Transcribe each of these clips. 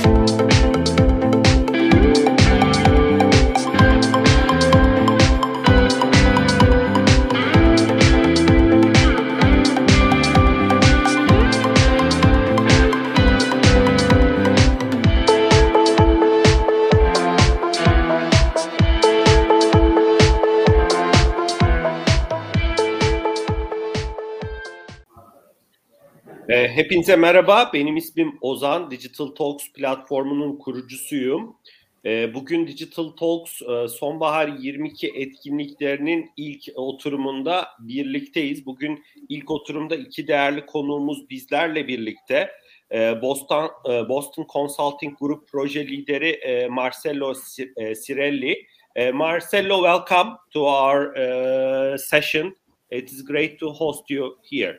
Hepinize merhaba, benim ismim Ozan, Digital Talks platformunun kurucusuyum. Bugün Digital Talks Sonbahar 22 etkinliklerinin ilk oturumunda birlikteyiz. Bugün ilk oturumda iki değerli konuğumuz bizlerle birlikte. Boston Consulting Group proje lideri Marcello Cirelli. Marcello, welcome to our session. It is great to host you here.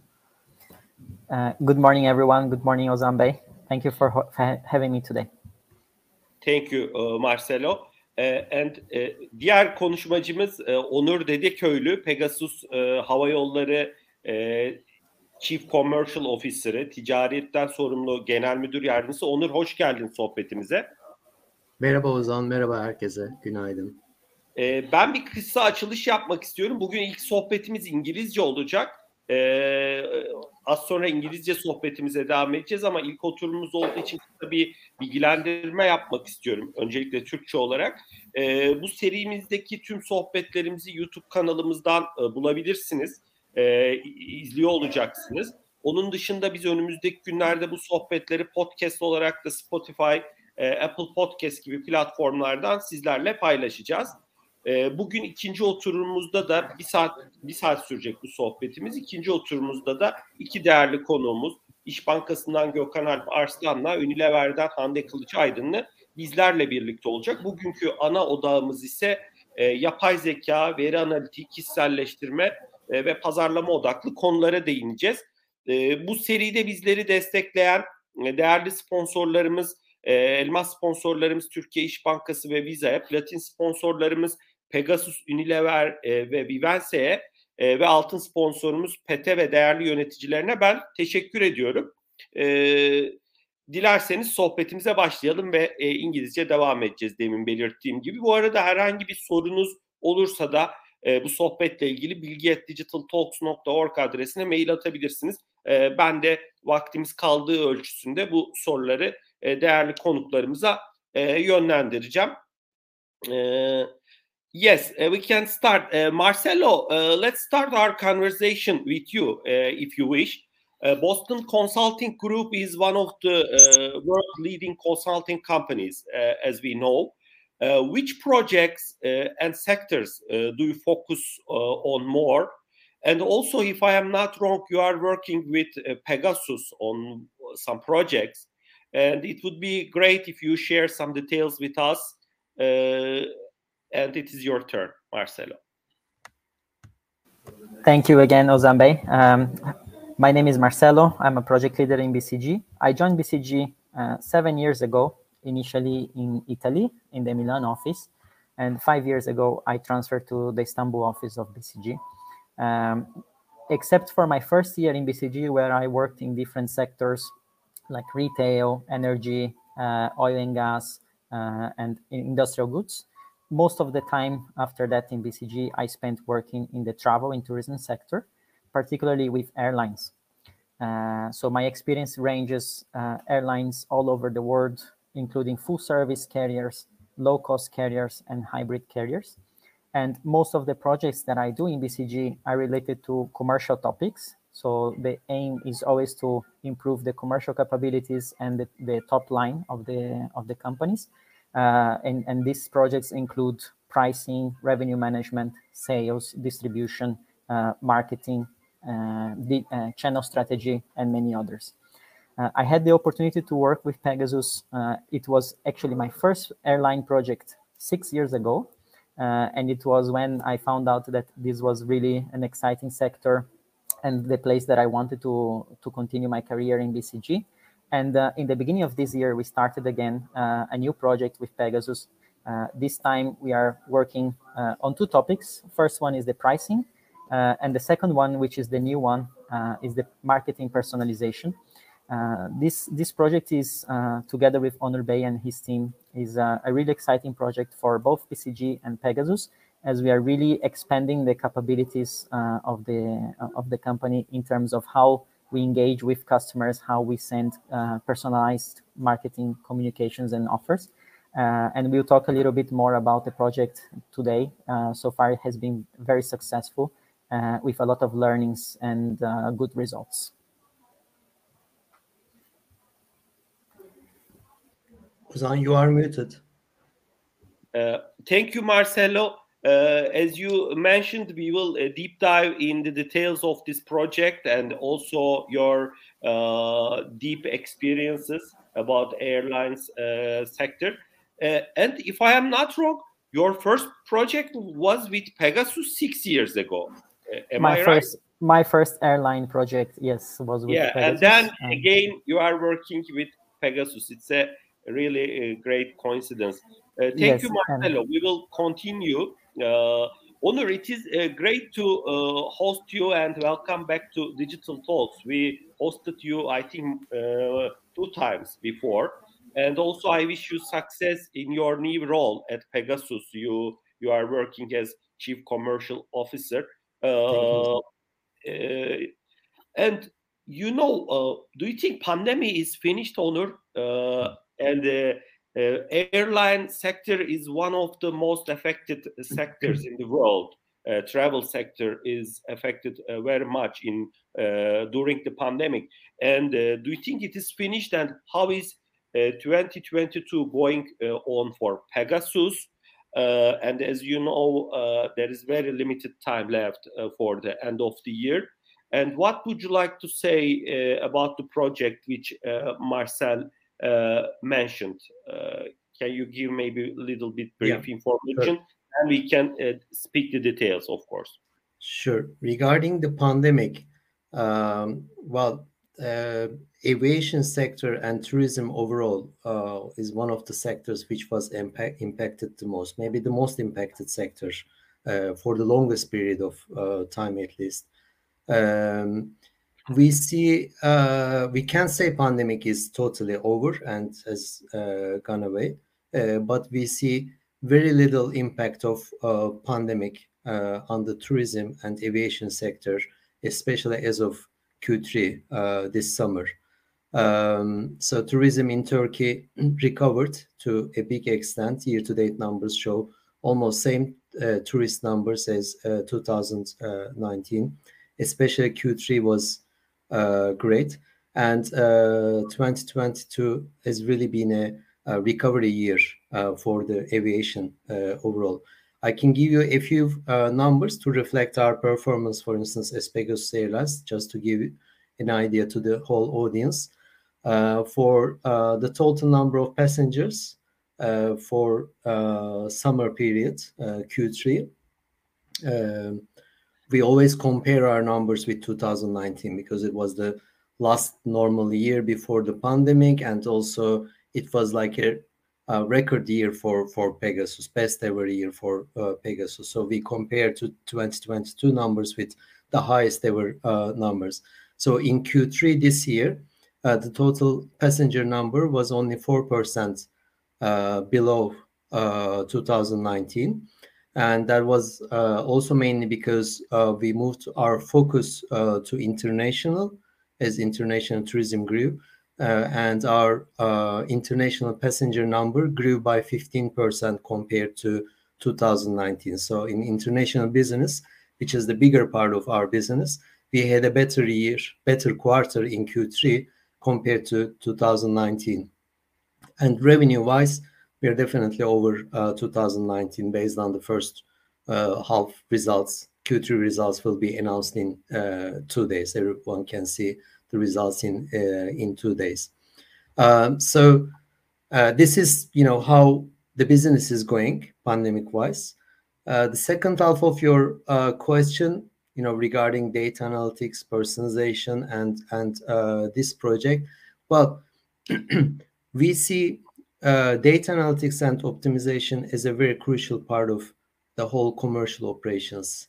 Good morning, everyone. Good morning, Ozan Bey. Thank you for having me today. Thank you, Marcelo. Diğer konuşmacımız Onur Dedeköylü, Pegasus Hava Yolları Chief Commercial Officer'ı, ticariyetten sorumlu Genel Müdür Yardımcısı. Onur, hoş geldin sohbetimize. Merhaba Ozan, merhaba herkese. Günaydın. Ben bir kısa açılış yapmak istiyorum. Bugün ilk sohbetimiz İngilizce olacak. Az sonra İngilizce sohbetimize devam edeceğiz ama ilk oturumumuz olduğu için kısa bir bilgilendirme yapmak istiyorum. Öncelikle Türkçe olarak. Bu serimizdeki tüm sohbetlerimizi YouTube kanalımızdan bulabilirsiniz. İzliyor olacaksınız. Onun dışında biz önümüzdeki günlerde bu sohbetleri podcast olarak da Spotify, Apple Podcast gibi platformlardan sizlerle paylaşacağız. Bugün ikinci oturumumuzda da bir saat sürecek bu sohbetimiz. İkinci oturumumuzda da iki değerli konuğumuz İş Bankası'ndan Gökhan Alp Arslan'la Unilever'den Hande Kılıç Aydın'la bizlerle birlikte olacak. Bugünkü ana odağımız ise yapay zeka, veri analitiği, kişiselleştirme ve pazarlama odaklı konulara değineceğiz. Bu seride bizleri destekleyen değerli sponsorlarımız, elmas sponsorlarımız Türkiye İş Bankası ve Visa'ya, platin sponsorlarımız Pegasus, Unilever ve Vivense'ye ve altın sponsorumuz PET'e ve değerli yöneticilerine ben teşekkür ediyorum. Dilerseniz sohbetimize başlayalım ve İngilizce devam edeceğiz demin belirttiğim gibi. Bu arada herhangi bir sorunuz olursa da bu sohbetle ilgili bilgi@digitaltalks.org adresine mail atabilirsiniz. Ben de vaktimiz kaldığı ölçüsünde bu soruları değerli konuklarımıza yönlendireceğim. Yes, we can start. Marcelo, let's start our conversation with you, if you wish. Boston Consulting Group is one of the world leading consulting companies, as we know. Which projects and sectors do you focus on more? And also, if I am not wrong, you are working with Pegasus on some projects. And it would be great if you share some details with us. And it is your turn, Marcelo. Thank you again, Ozan Bey. My name is Marcelo. I'm a project leader in BCG. I joined BCG 7 years ago, initially in Italy, in the Milan office. And 5 years ago, I transferred to the Istanbul office of BCG. Except for my first year in BCG, where I worked in different sectors like retail, energy, oil and gas, and industrial goods. Most of the time after that in BCG, I spent working in the travel and tourism sector, particularly with airlines. So my experience ranges airlines all over the world, including full service carriers, low-cost carriers, and hybrid carriers. And most of the projects that I do in BCG are related to commercial topics. So the aim is always to improve the commercial capabilities and the top line of the companies. And these projects include pricing, revenue management, sales, distribution, marketing, channel strategy, and many others. I had the opportunity to work with Pegasus. It was actually my first airline project 6 years ago. And it was when I found out that this was really an exciting sector and the place that I wanted to continue my career in BCG. And in the beginning of this year, we started again a new project with Pegasus. This time we are working on two topics. First one is the pricing. And the second one, which is the new one, is the marketing personalization. This project is, together with Onur Bey and his team, is a really exciting project for both BCG and Pegasus, as we are really expanding the capabilities of the company in terms of how we engage with customers, how we send personalized marketing communications and offers. And we'll talk a little bit more about the project today. So far, it has been very successful with a lot of learnings and good results. Ozan, you are muted. Thank you, Marcelo. As you mentioned, we will deep dive in the details of this project and also your deep experiences about airlines sector. And if I am not wrong, your first project was with Pegasus 6 years ago. Am I right? My first airline project, yes, was with Pegasus. And then again, you are working with Pegasus. It's a really great coincidence. Thank you, Marcelo. We will continue. Onur, it is great to host you and welcome back to Digital Talks. We hosted you, I think, 2 times before. And also, I wish you success in your new role at Pegasus. You are working as Chief Commercial Officer. And do you think pandemic is finished, Onur? And the airline sector is one of the most affected sectors in the world. Travel sector is affected very much during the pandemic. And do you think it is finished? And how is 2022 going on for Pegasus? And as you know, there is very limited time left for the end of the year. And what would you like to say about the project which Marcel mentioned? Can you give maybe a little bit brief information? Sure. And we can speak the details, of course. Sure. Regarding the pandemic, aviation sector and tourism overall is one of the sectors which was impacted the most, maybe the most impacted sector for the longest period of time at least. We can't say pandemic is totally over and has gone away, but we see very little impact of pandemic on the tourism and aviation sector, especially as of Q3 this summer. So tourism in Turkey recovered to a big extent. Year-to-date numbers show almost same tourist numbers as 2019. Especially Q3 was great, and 2022 has really been a recovery year for the aviation overall. I can give you a few numbers to reflect our performance, for instance, as Pegasus Airlines, just to give an idea to the whole audience. For the total number of passengers for summer period, Q3, we always compare our numbers with 2019 because it was the last normal year before the pandemic, and also it was like a record year for Pegasus, best ever year for Pegasus. So we compare to 2022 numbers with the highest ever numbers. So in Q3 this year, the total passenger number was only 4% below 2019. And that was also mainly because we moved our focus to international as international tourism grew. And our international passenger number grew by 15% compared to 2019. So in international business, which is the bigger part of our business, we had a better quarter in Q3 compared to 2019. And revenue-wise, we are definitely over 2019 based on the first half results. Q3 results will be announced in 2 days. Everyone can see the results in 2 days. So this is, how the business is going pandemic-wise. The second half of your question, regarding data analytics, personalization, and this project, well, we see data analytics and optimization is a very crucial part of the whole commercial operations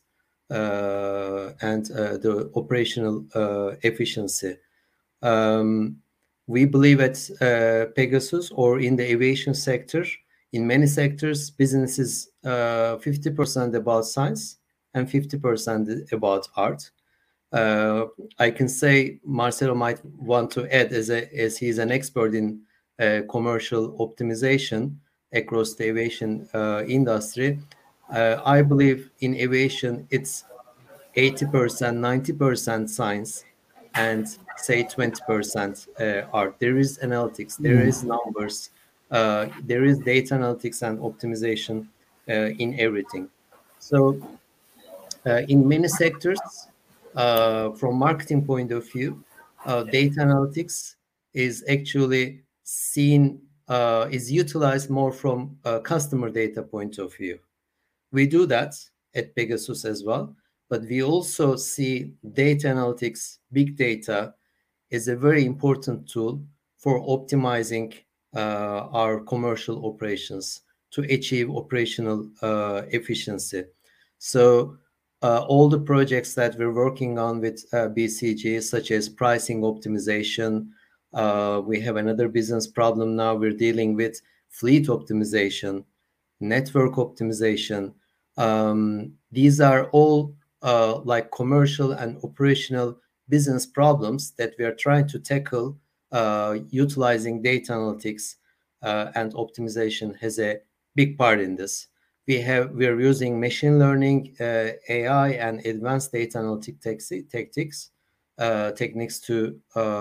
and the operational efficiency. we believe at Pegasus or in the aviation sector, in many sectors, business is 50% about science and 50% about art. I can say Marcelo might want to add, as he's an expert in commercial optimization across the aviation industry. I believe in aviation, it's 80%, 90% science, and say 20% art. There is analytics, there is numbers, there is data analytics and optimization in everything. So in many sectors, from marketing point of view, data analytics is actually seen, is utilized more from a customer data point of view. We do that at Pegasus as well, but we also see data analytics, big data, is a very important tool for optimizing our commercial operations to achieve operational efficiency. So all the projects that we're working on with BCG, such as pricing optimization, we have another business problem now. We're dealing with fleet optimization, network optimization. These are all like commercial and operational business problems that we are trying to tackle utilizing data analytics, and optimization has a big part in this. We are using machine learning, AI, and advanced data analytic techniques to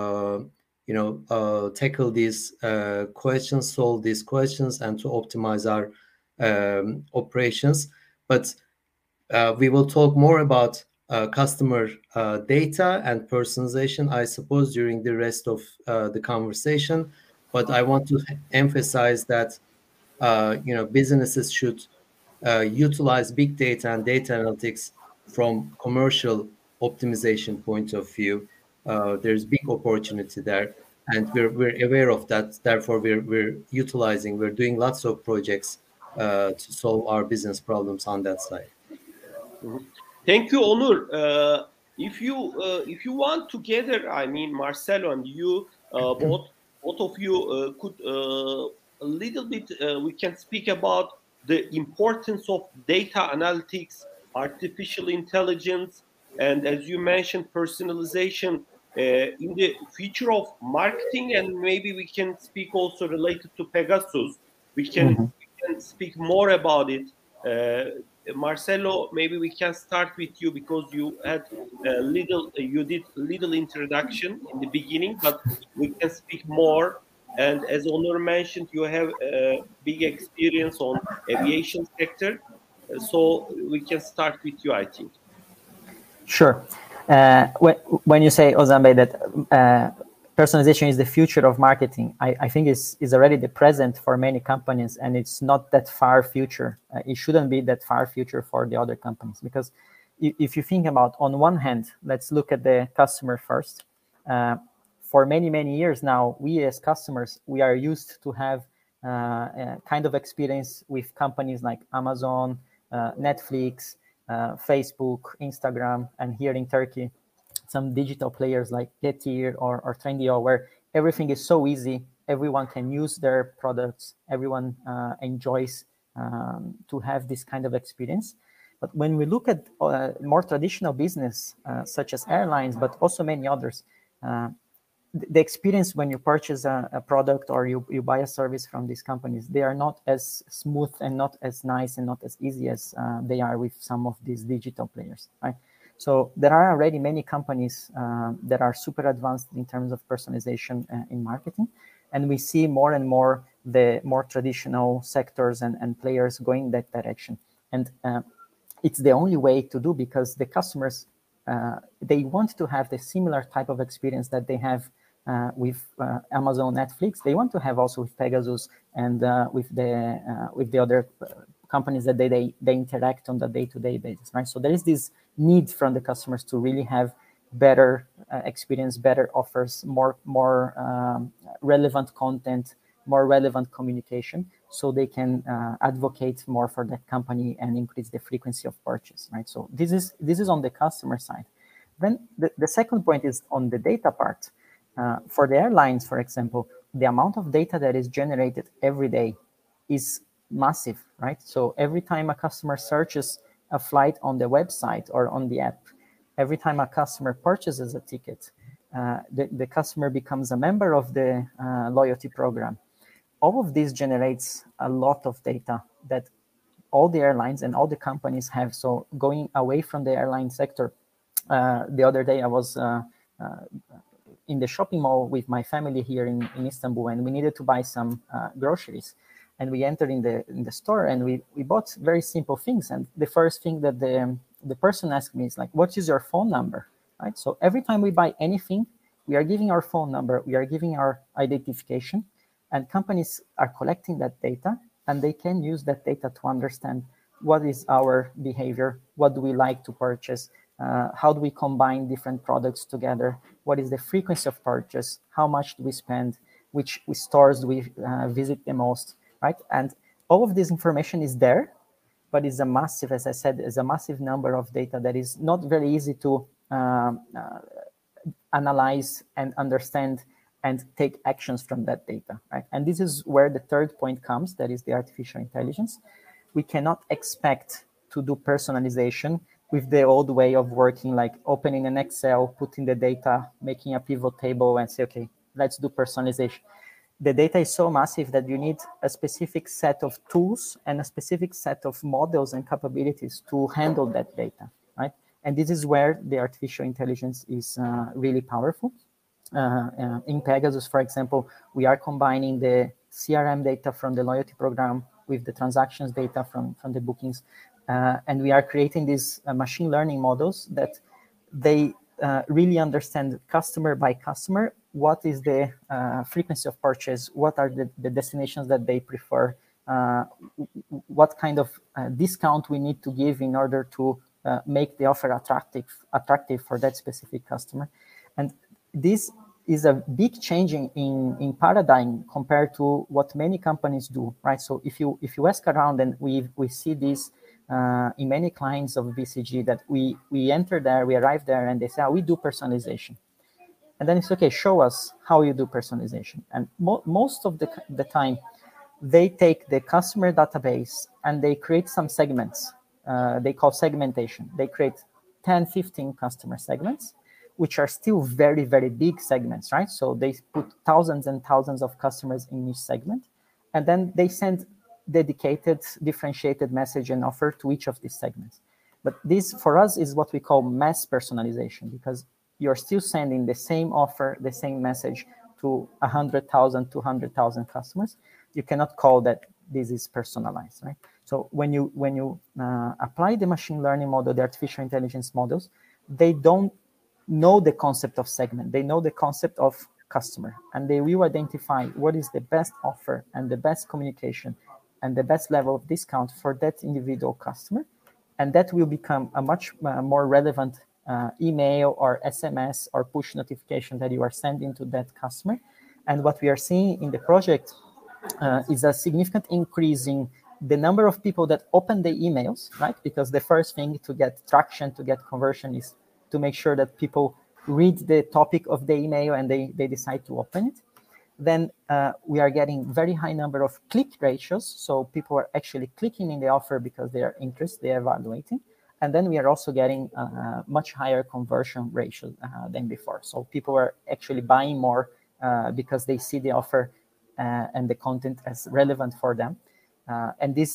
tackle these questions, solve these questions, and to optimize our operations. But we will talk more about customer data and personalization, I suppose, during the rest of the conversation. But I want to emphasize that businesses should utilize big data and data analytics from commercial optimization point of view. There's big opportunity there, and we're aware of that. Therefore, we're doing lots of projects to solve our business problems on that side. Thank you, Onur. If you want together, I mean, Marcelo and you, both of you could a little bit. We can speak about the importance of data analytics, artificial intelligence, and as you mentioned, personalization in the future of marketing. And maybe we can speak also related to Pegasus. We can speak more about it. Marcelo, maybe we can start with you because you had you did little introduction in the beginning, but we can speak more. And as Onur mentioned, you have a big experience on aviation sector, so we can start with you, I think. Sure. When you say, Ozan, that personalization is the future of marketing, I think is already the present for many companies, and it's not that far future. It shouldn't be that far future for the other companies, because if you think about, on one hand, let's look at the customer first. For many, many years now, we as customers, we are used to have a kind of experience with companies like Amazon, Netflix, Facebook, Instagram, and here in Turkey, some digital players like Getir or Trendyol, where everything is so easy. Everyone can use their products. Everyone enjoys to have this kind of experience. But when we look at more traditional business, such as airlines, but also many others, the experience when you purchase a product or you buy a service from these companies, they are not as smooth and not as nice and not as easy as they are with some of these digital players, right? So there are already many companies that are super advanced in terms of personalization in marketing. And we see more and more the more traditional sectors and players going that direction. And it's the only way to do, because the customers, they want to have the similar type of experience that they have with Amazon, Netflix. They want to have also with Pegasus and with the other companies that they interact on the day-to-day basis, right? So there is this need from the customers to really have better experience, better offers, more relevant content, more relevant communication, so they can advocate more for that company and increase the frequency of purchase, right? So this is on the customer side. Then the second point is on the data part. For the airlines, for example, the amount of data that is generated every day is massive, right? So every time a customer searches a flight on the website or on the app, every time a customer purchases a ticket, the customer becomes a member of the loyalty program. All of this generates a lot of data that all the airlines and all the companies have. So going away from the airline sector, the other day I was in the shopping mall with my family here in Istanbul, and we needed to buy some groceries. And we entered in the store, and we bought very simple things. And the first thing that the person asked me is like, "What is your phone number?" Right. So every time we buy anything, we are giving our phone number, we are giving our identification, and companies are collecting that data, and they can use that data to understand what is our behavior, what do we like to purchase, how do we combine different products together, what is the frequency of purchase, how much do we spend, which stores do we visit the most, right? And all of this information is there, but it's a massive, as I said, is a massive number of data that is not very easy to analyze and understand and take actions from that data, right? And this is where the third point comes, that is the artificial intelligence. We cannot expect to do personalization with the old way of working, like opening an Excel, putting the data, making a pivot table and say, okay, let's do personalization. The data is so massive that you need a specific set of tools and a specific set of models and capabilities to handle that data, right? And this is where the artificial intelligence is really powerful. In Pegasus, for example, we are combining the CRM data from the loyalty program with the transactions data from the bookings. And we are creating these machine learning models that they really understand customer by customer, what is the frequency of purchase, what are the destinations that they prefer, what kind of discount we need to give in order to make the offer attractive for that specific customer. And this is a big change in paradigm compared to what many companies do, right? So if you ask around, and we see this in many clients of BCG, that we enter there, we arrive there, and they say, we do personalization. And then it's okay, show us how you do personalization. And most of the time, they take the customer database and they create some segments. They call segmentation. They create 10, 15 customer segments, which are still very, very big segments, right? So they put thousands and thousands of customers in each segment, and then they send dedicated, differentiated message and offer to each of these segments. But this, for us, is what we call mass personalization, because you're still sending the same offer, the same message to 100,000, 200,000 customers. You cannot call that this is personalized, right? So when you apply the machine learning model, the artificial intelligence models, they don't know the concept of segment. They know the concept of customer, and they will identify what is the best offer and the best communication and the best level of discount for that individual customer. And that will become a much more relevant email or SMS or push notification that you are sending to that customer. And what we are seeing in the project is a significant increase in the number of people that open the emails, right? Because the first thing to get traction, to get conversion, is to make sure that people read the topic of the email and they decide to open it. Then we are getting very high number of click ratios. So people are actually clicking in the offer because they are interested, they are evaluating. And then we are also getting much higher conversion ratio than before. So people are actually buying more because they see the offer and the content as relevant for them. And this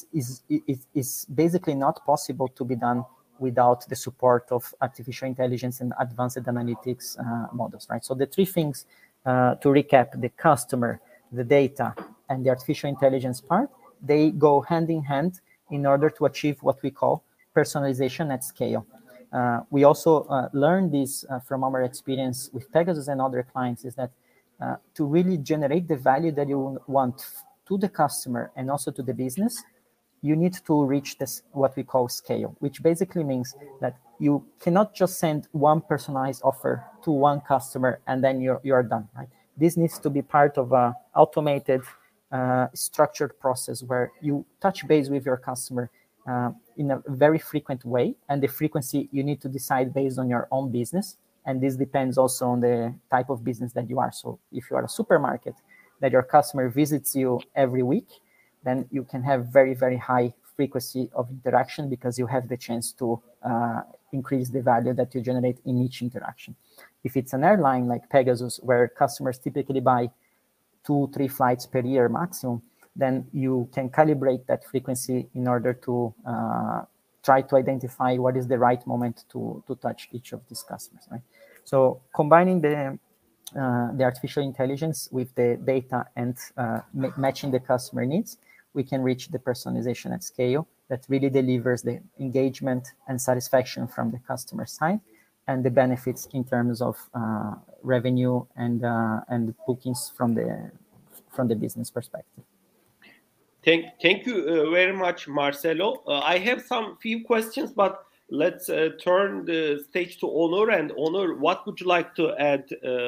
is basically not possible to be done without the support of artificial intelligence and advanced analytics models, right? So the three things, to recap: the customer, the data, and the artificial intelligence part, they go hand in hand in order to achieve what we call personalization at scale. We also learned this from our experience with Pegasus and other clients, is that to really generate the value that you want to the customer and also to the business, you need to reach this, what we call scale, which basically means that you cannot just send one personalized offer to one customer and then you're done, right? This needs to be part of a automated, structured process where you touch base with your customer in a very frequent way, and the frequency you need to decide based on your own business And this depends also on the type of business that you are. So if you are a supermarket that your customer visits you every week, then you can have very, very high frequency of interaction because you have the chance to increase the value that you generate in each interaction. If it's an airline like Pegasus, where customers typically buy 2-3 flights per year maximum, then you can calibrate that frequency in order to try to identify what is the right moment to touch each of these customers, right? So combining the artificial intelligence with the data and matching the customer needs, we can reach the personalization at scale that really delivers the engagement and satisfaction from the customer side and the benefits in terms of revenue and bookings from the business perspective. Thank you very much, Marcelo. I have some few questions, but let's turn the stage to Onur. And Onur, what would you like to add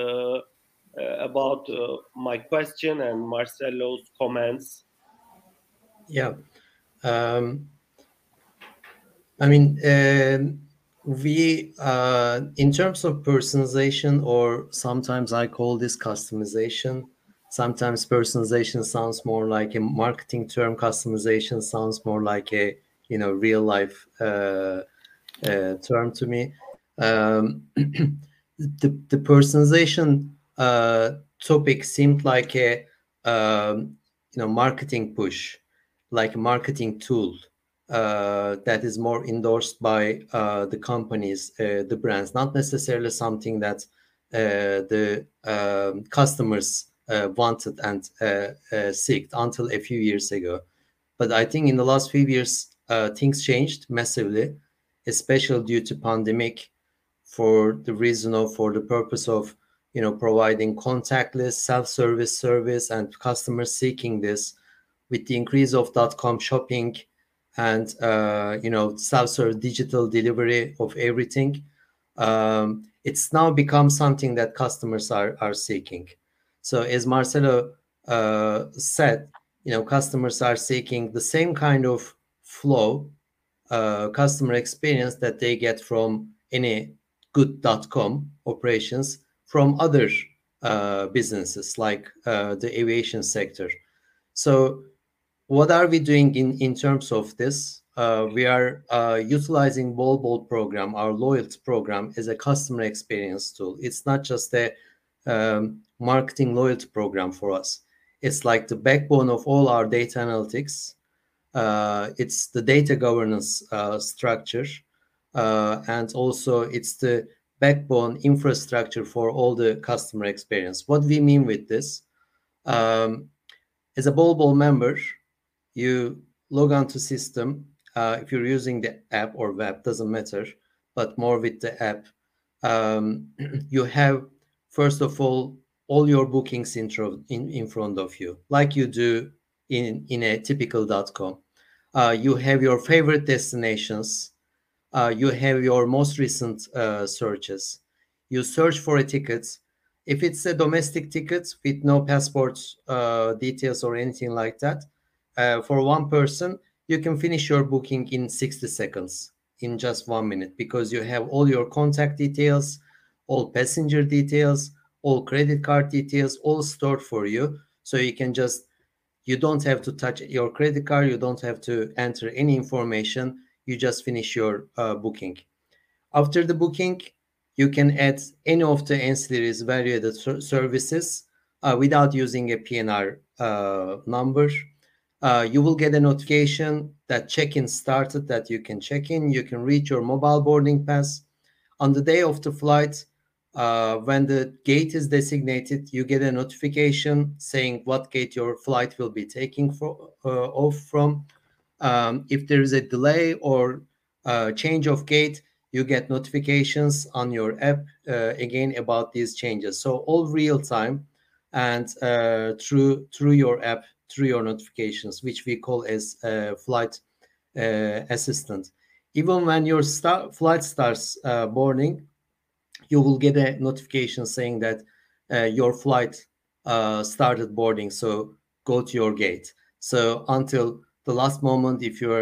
about my question and Marcelo's comments? Yeah. I mean, we, in terms of personalization, or sometimes I call this customization. Sometimes personalization sounds more like a marketing term. Customization sounds more like a, real life term to me. The personalization topic seemed like a, marketing push, like a marketing tool that is more endorsed by the companies, the brands, not necessarily something that the customers wanted and seeked until a few years ago. But I think in the last few years, things changed massively, especially due to pandemic, for the purpose of providing contactless self-service service and customers seeking this. With the increase of .com shopping and self-service digital delivery of everything, it's now become something that customers are seeking. So as Marcelo said, customers are seeking the same kind of flow, customer experience that they get from any good .com operations from other businesses like the aviation sector. So what are we doing in terms of this? We are utilizing bol program, our loyalty program, as a customer experience tool. It's not just a marketing loyalty program for us. It's like the backbone of all our data analytics. It's the data governance structure, and also it's the backbone infrastructure for all the customer experience. What we mean with this, as a bol member, you log on to system. If you're using the app or web, doesn't matter, but more with the app, you have, first of all your bookings in front of you, like you do in a typical .com. You have your favorite destinations. You have your most recent searches. You search for a ticket. If it's a domestic ticket with no passport details or anything like that, for one person, you can finish your booking in 60 seconds, in just 1 minute, because you have all your contact details, all passenger details, all credit card details, all stored for you. So you don't have to touch your credit card. You don't have to enter any information. You just finish your booking. After the booking, you can add any of the ancillaries, value-added services without using a PNR number. You will get a notification that check-in started, that you can check in. You can read your mobile boarding pass. On the day of the flight, when the gate is designated, you get a notification saying what gate your flight will be taking off from. If there is a delay or change of gate, you get notifications on your app again about these changes. So all real time and through your app, through your notifications, which we call as flight assistant. Even when your flight starts boarding, you will get a notification saying that your flight started boarding, so go to your gate. So until the last moment, if you're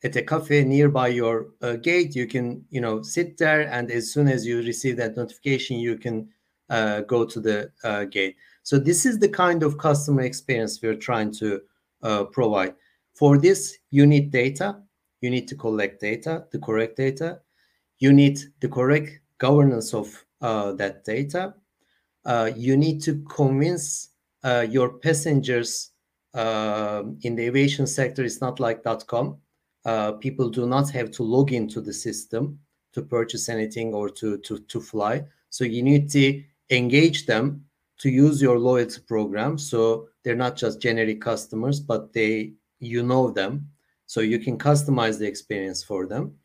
at a cafe nearby your gate. You can, sit there, and as soon as you receive that notification, you can go to the gate. So this is the kind of customer experience we're trying to provide. For this, you need data. You need to collect data, the correct data. You need the correct governance of that data. You need to convince your passengers. In the aviation sector, it's not like .com. People do not have to log into the system to purchase anything or to fly. So you need to engage them to use your loyalty program. So they're not just generic customers, but you know them. So you can customize the experience for them.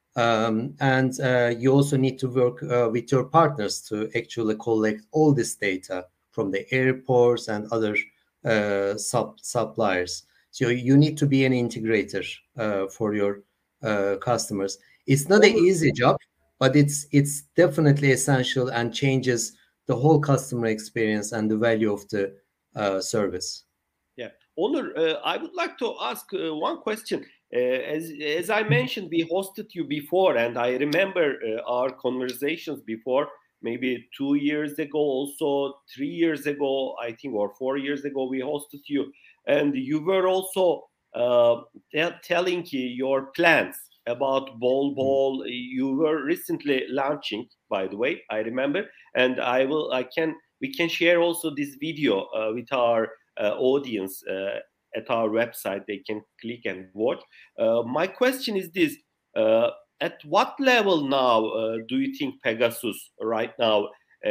And you also need to work with your partners to actually collect all this data from the airports and other suppliers. So you need to be an integrator for your customers. It's not an easy job, but it's definitely essential and changes the whole customer experience and the value of the service. Yeah, Onur, I would like to ask one question. As I mentioned, we hosted you before, and I remember our conversations before, maybe 2 years ago, also 3 years ago, I think, or 4 years ago, we hosted you, and you were also telling your plans about Bol. You were recently launching, by the way, I remember, and we can share also this video with our audience at our website. They can click and watch. My question is this: at what level now do you think Pegasus right now,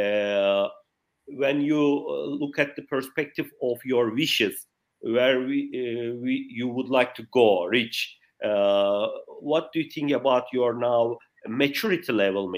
when you look at the perspective of your wishes, where you would like to reach? What do you think about your now maturity level?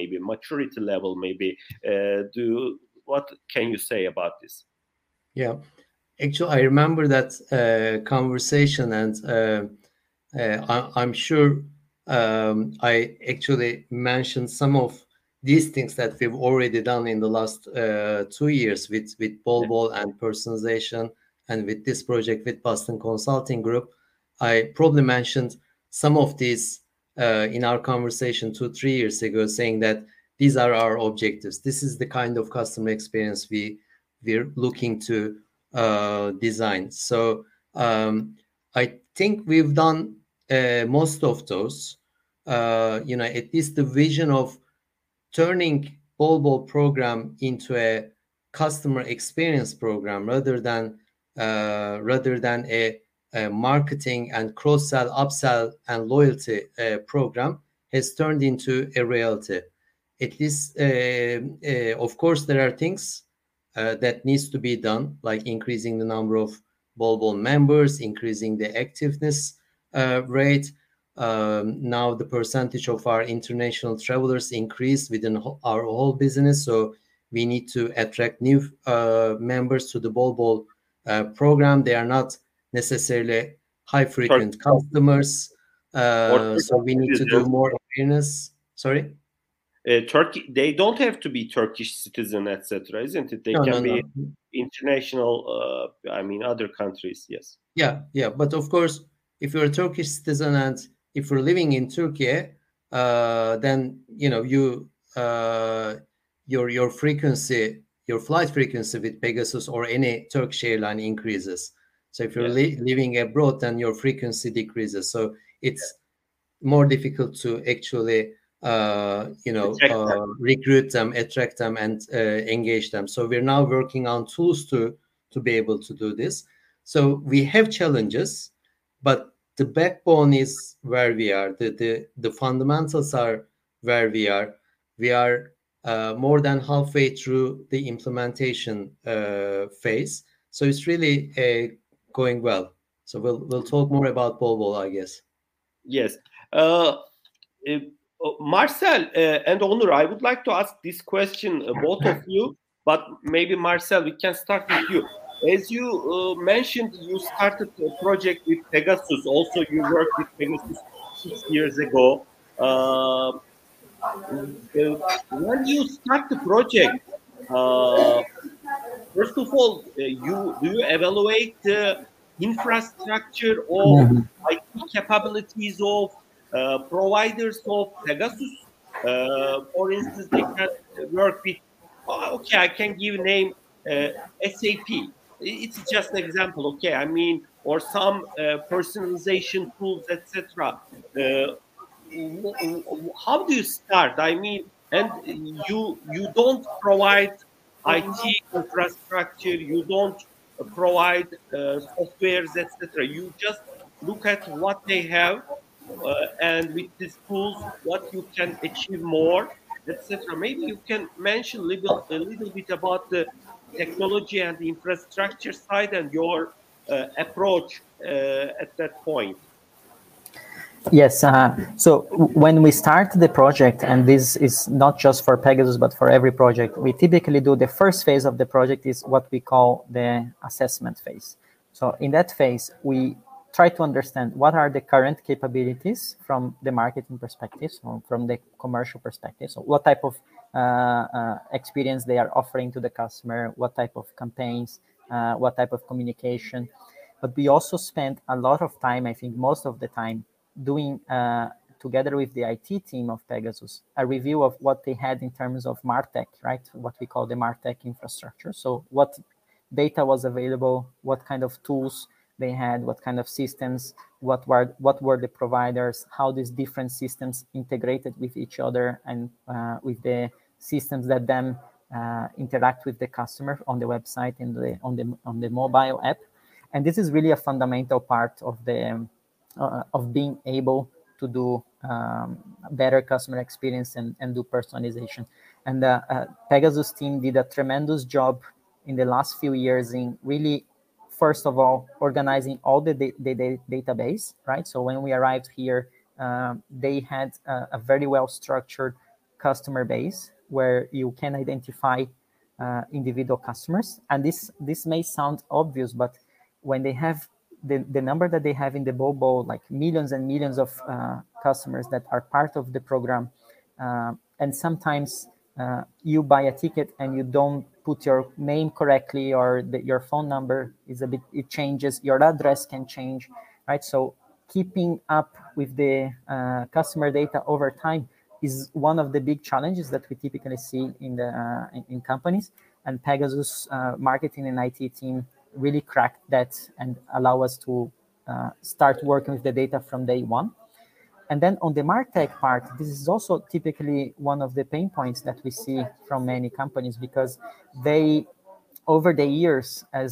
What can you say about this? Yeah. Actually, I remember that conversation, and I'm sure I actually mentioned some of these things that we've already done in the last 2 years with Bol and personalization, and with this project with Boston Consulting Group. I probably mentioned some of these in our conversation 2-3 years ago, saying that these are our objectives. This is the kind of customer experience we're looking to design. So I think we've done most of those. At least the vision of turning Bol program into a customer experience program rather than a marketing and cross-sell, upsell, and loyalty program has turned into a reality. At least, of course, there are things that needs to be done, like increasing the number of Bol members, increasing the activeness rate. Now the percentage of our international travelers increased within our whole business, so we need to attract new members to the Bol program. They are not necessarily high frequent customers, so we need to do more awareness. Sorry? Turkey, they don't have to be Turkish citizen, etc., isn't it? They can be international. Other countries. Yes. Yeah. But of course, if you're a Turkish citizen and if you're living in Turkey, then your frequency, your flight frequency with Pegasus or any Turkish airline increases. So if you're living abroad, then your frequency decreases. So it's more difficult to actually recruit them, attract them, and engage them. So we're now working on tools to be able to do this. So we have challenges, but the backbone is where we are. The fundamentals are where we are. We are more than halfway through the implementation phase. So it's really going well. So we'll talk more about Bol, I guess. Yes. Marcel and Onur, I would like to ask this question, both of you, but maybe Marcel, we can start with you. As you mentioned, you started a project with Pegasus. Also, you worked with Pegasus 6 years ago. When you start the project, first of all, do you evaluate the infrastructure of IT capabilities of providers of Pegasus, for instance, they can work with, okay, I can give name SAP. It's just an example, okay? I mean, or some personalization tools, etc. How do you start? I mean, and you don't provide IT infrastructure, you don't provide softwares, etc. You just look at what they have, and with these tools, what you can achieve more, etc. Maybe you can mention a little bit about the technology and the infrastructure side and your approach at that point. Yes. So when we start the project, and this is not just for Pegasus, but for every project, we typically do the first phase of the project is what we call the assessment phase. So in that phase, we try to understand what are the current capabilities from the marketing perspective, so from the commercial perspective. So what type of experience they are offering to the customer, what type of campaigns, what type of communication. But we also spend a lot of time, I think most of the time, doing together with the IT team of Pegasus a review of what they had in terms of MarTech, right? What we call the MarTech infrastructure. So what data was available, what kind of tools they had, what kind of systems, what were the providers, how these different systems integrated with each other, and with the systems that then interact with the customer on the website and on the mobile app. And this is really a fundamental part of the of being able to do better customer experience and do personalization. And the Pegasus team did a tremendous job in the last few years in really, first of all, organizing all the database, right? So when we arrived here, they had a very well-structured customer base where you can identify individual customers. And this may sound obvious, but when they have the number that they have in the Bobo, like millions and millions of customers that are part of the program, and sometimes you buy a ticket and you don't put your name correctly, or your phone number is it changes, your address can change, right? So keeping up with the customer data over time is one of the big challenges that we typically see in companies, and Pegasus marketing and IT team really cracked that and allow us to start working with the data from day one. And then on the MarTech part, this is also typically one of the pain points that we see from many companies, because they, over the years, as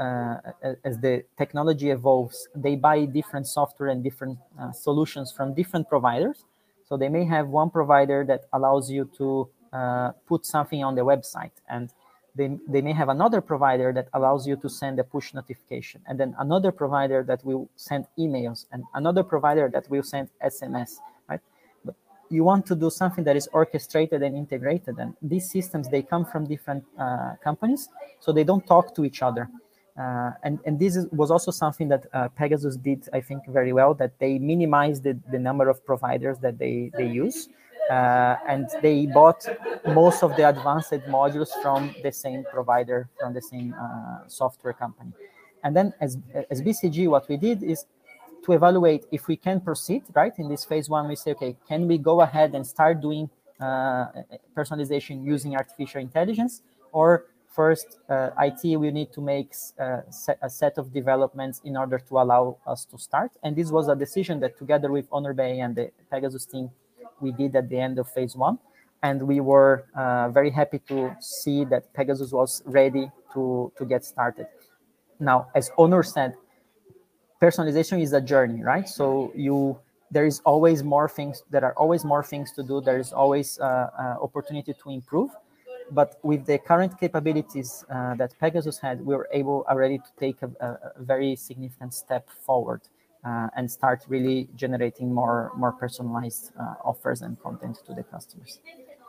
the technology evolves, they buy different software and different solutions from different providers. So they may have one provider that allows you to put something on the website, and they may have another provider that allows you to send a push notification, and then another provider that will send emails, and another provider that will send SMS, right? But you want to do something that is orchestrated and integrated, and these systems, they come from different companies, so they don't talk to each other. And this was also something that Pegasus did, I think, very well, that they minimized the number of providers that they use. And they bought most of the advanced modules from the same provider, from the same software company. And then as BCG, what we did is to evaluate if we can proceed, right? In this phase one, we say, okay, can we go ahead and start doing personalization using artificial intelligence? Or first, IT will need to make a set of developments in order to allow us to start. And this was a decision that together with Onur Bey and the Pegasus team, we did at the end of phase one. And we were very happy to see that Pegasus was ready to get started. Now, as Onur said, personalization is a journey, right? So there is always more things. There are always more things to do. There is always opportunity to improve. But with the current capabilities that Pegasus had, we were able already to take a very significant step forward and start really generating more personalized offers and content to the customers.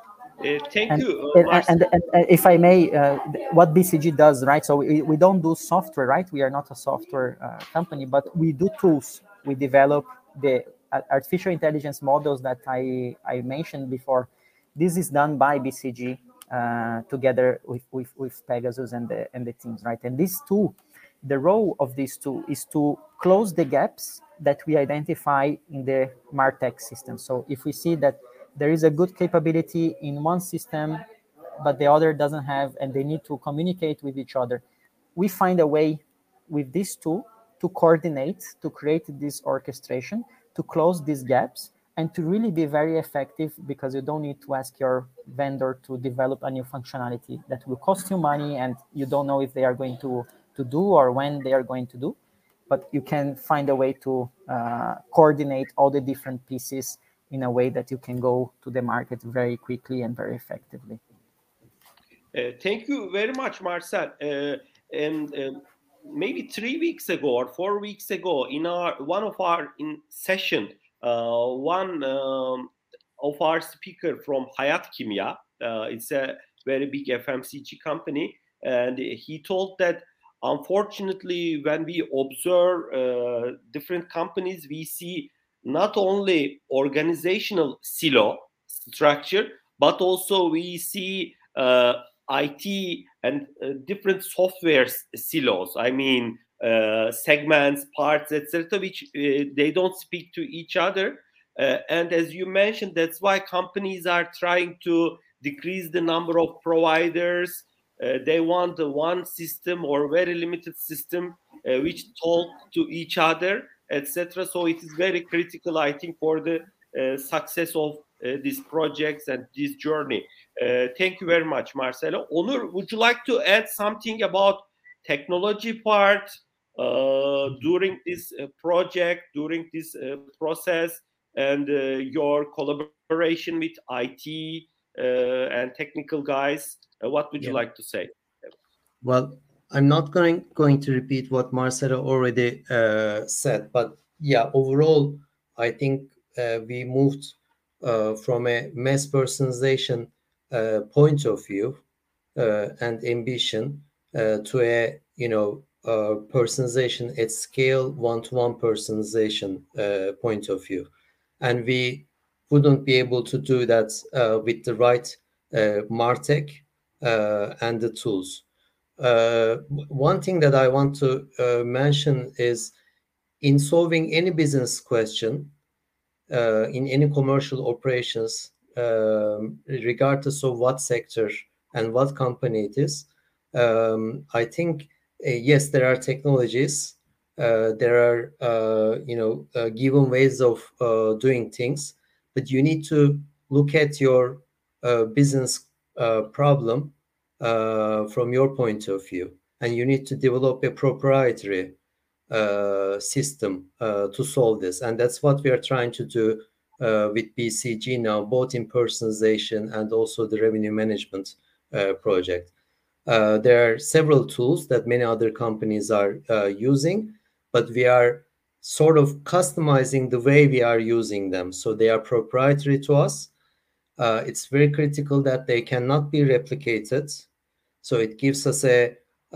Thank you. And if I may, what BCG does, right? So we don't do software, right? We are not a software company, but we do tools. We develop the artificial intelligence models that I mentioned before. This is done by BCG together with Pegasus and the teams, right? And this tool, the role of this tool is to close the gaps that we identify in the MarTech system. So if we see that there is a good capability in one system, but the other doesn't have, and they need to communicate with each other, we find a way with this tool to coordinate, to create this orchestration, to close these gaps, and to really be very effective, because you don't need to ask your vendor to develop a new functionality that will cost you money and you don't know if they are going to do or when they are going to do. But you can find a way to coordinate all the different pieces in a way that you can go to the market very quickly and very effectively. Thank you very much, Marcel. And maybe 3 weeks ago or 4 weeks ago, in one of our session, one of our speaker from Hayat Kimya, it's a very big FMCG company, and he told that unfortunately, when we observe different companies, we see not only organizational silo structure, but also we see IT and different software silos. I mean, segments, parts, etc., which they don't speak to each other. And as you mentioned, that's why companies are trying to decrease the number of providers. They want one system or very limited system which talk to each other, etc. So it is very critical, I think, for the success of these projects and this journey. Thank you very much, Marcelo. Onur, would you like to add something about technology part during this project, during this process, and your collaboration with IT and technical guys? What would you like to say? Well, I'm not going to repeat what Marcelo already said, but yeah, overall, I think we moved from a mass personalization point of view and ambition to a personalization at scale, one-to-one personalization point of view, and we wouldn't be able to do that with the right MarTech and the tools. One thing that I want to mention is, in solving any business question in any commercial operations, regardless of what sector and what company it is, I think yes, there are technologies, there are given ways of doing things, but you need to look at your business problem from your point of view, and you need to develop a proprietary system to solve this, and that's what we are trying to do with BCG now, both in personalization and also the revenue management project. There are several tools that many other companies are using, but we are sort of customizing the way we are using them, so they are proprietary to us. It's very critical that they cannot be replicated. So it gives us a